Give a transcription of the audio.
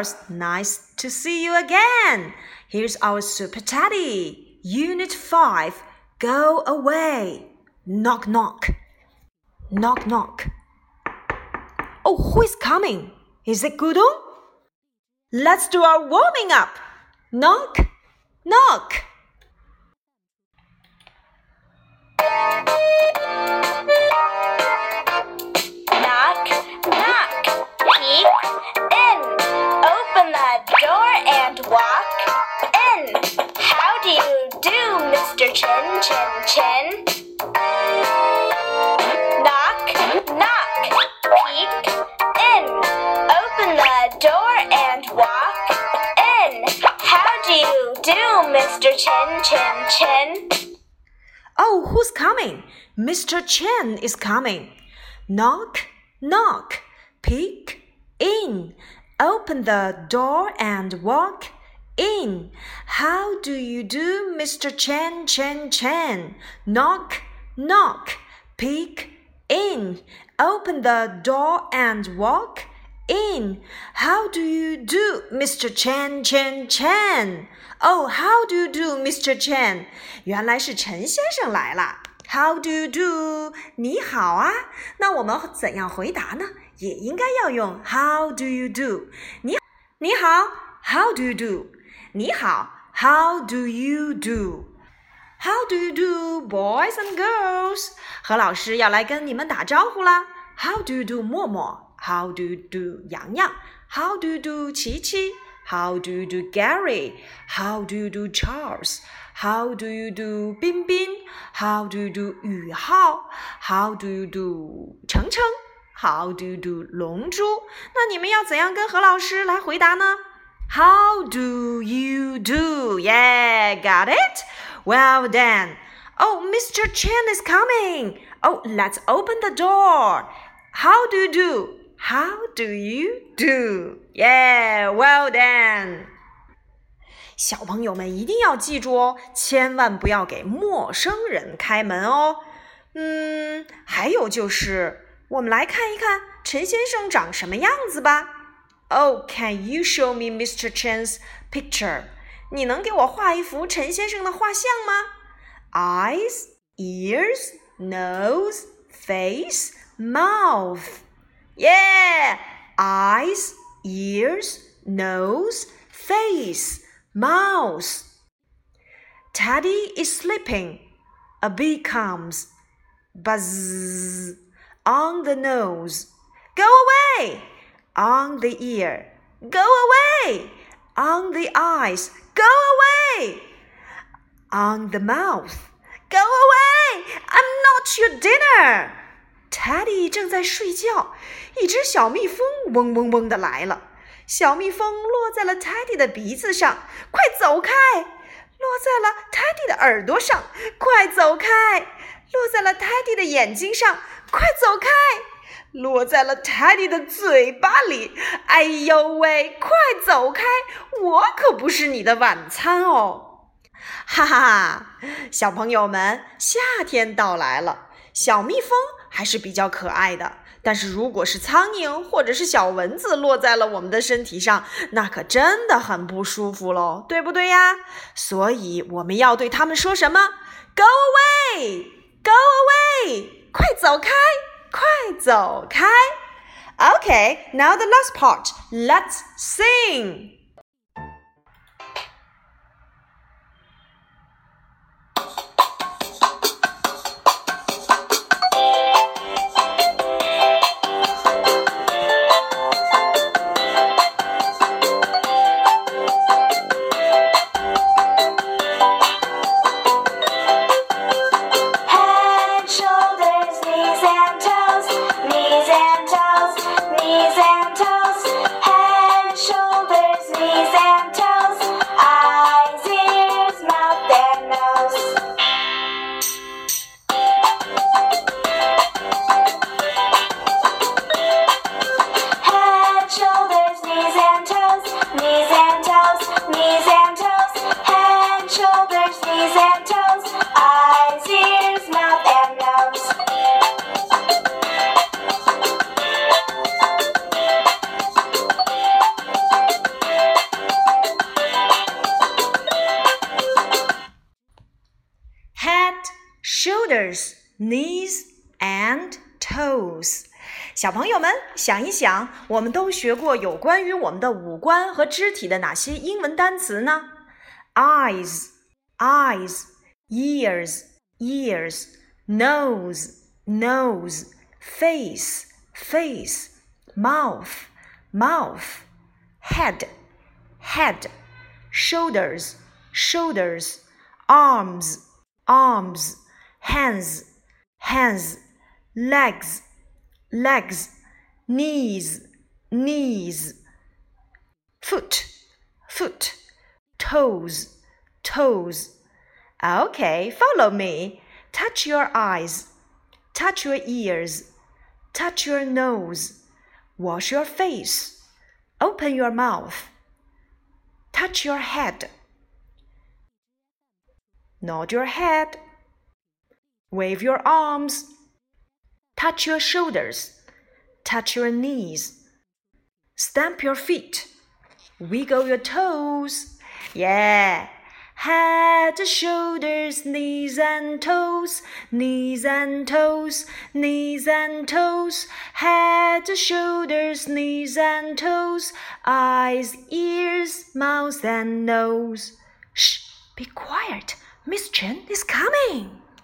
girls, nice to see you again. Here's our Super Teddy. Unit 5, go away. Knock, knock. Knock, knock. Oh, who is coming? Is it Gudong? Let's do our warming up. Knock, knock. Knock, knock. Peek in. Open the door and walk in. How do you do, Mr. Chin, Chin, Chin? Knock, knock. Peek in. Open the door and walk in. How do you do, Mr. Chin, Chin, Chin? Oh, who's coming? Mr. Chen is coming. Knock, knock. Peek in. Open the door and walk in. How do you do, Mr. Chen, Chen, Chen? Knock, knock. Peek in. Open the door and walk in. How do you do, Mr. Chen, Chen, Chen? Oh, how do you do, Mr. Chen? 原来是陈先生来了。How do you do? 你好啊。那我们怎样回答呢？也应该要用 How do you do? 你好 How do you do? 你好 How do you do? How do you do, boys and girls? 何老师要来跟你们打招呼啦。How do you do, 默默 How do you do, 洋洋 How do you do, 琪琪How do you do, Gary? How do you do, Charles? How do you do, 彬彬 How do you do, 宇浩 How do you do, 程程 How do you do, 龙珠那你们要怎样跟何老师来回答呢？ How do you do? Yeah, got it? Well done. Oh, Mr. Chen is coming. Oh, let's open the door. How do you do? How do you do? Yeah, well done. 小朋友们一定要记住哦，千万不要给陌生人开门哦。还有就是，我们来看一看陈先生长什么样子吧。Oh, can you show me Mr. Chen's picture? 你能给我画一幅陈先生的画像吗？ Eyes, ears, nose, face, mouth.Yeah, eyes, ears, nose, face, mouth. Teddy is sleeping. A bee comes. Buzz. On the nose. Go away. On the ear. Go away. On the eyes. Go away. On the mouth. Go away. I'm not your dinner.Teddy 正在睡觉，一只小蜜蜂嗡嗡嗡地来了。小蜜蜂落在了 Teddy 的鼻子上，快走开！落在了 Teddy 的耳朵上，快走开！落在了 Teddy 的眼睛上，快走开！落在了 Teddy 的嘴巴里，哎呦喂，快走开！我可不是你的晚餐哦！哈哈哈，小朋友们，夏天到来了，小蜜蜂还是比较可爱的，但是如果是苍蝇或者是小蚊子落在了我们的身体上，那可真的很不舒服咯，对不对呀？所以我们要对他们说什么？ Go away! Go away! 快走开！快走开！ Okay, now the last part. Let's sing! Knees and toes, head, shoulders, shoulders, knees, and toes. 小朋友们想一想，我们都学过有关于我们的五官和肢体的哪些英文单词呢？ Eyes, eyes, ears, ears, nose, nose, face, face, mouth, mouth, head, head, shoulders, shoulders, arms, arms, hands, hands, legs, legs, knees, knees, foot, foot, toes, toes. Okay, follow me. Touch your eyes, touch your ears, touch your nose, wash your face, open your mouth, touch your head, nod your head, wave your arms, touch your shoulders, touch your knees, stamp your feet, wiggle your toes. Yeah! Head, shoulders, knees and toes, knees and toes, knees and toes. Head, shoulders, knees and toes, eyes, ears, mouth and nose. Shh! Be quiet. Miss Chen is coming.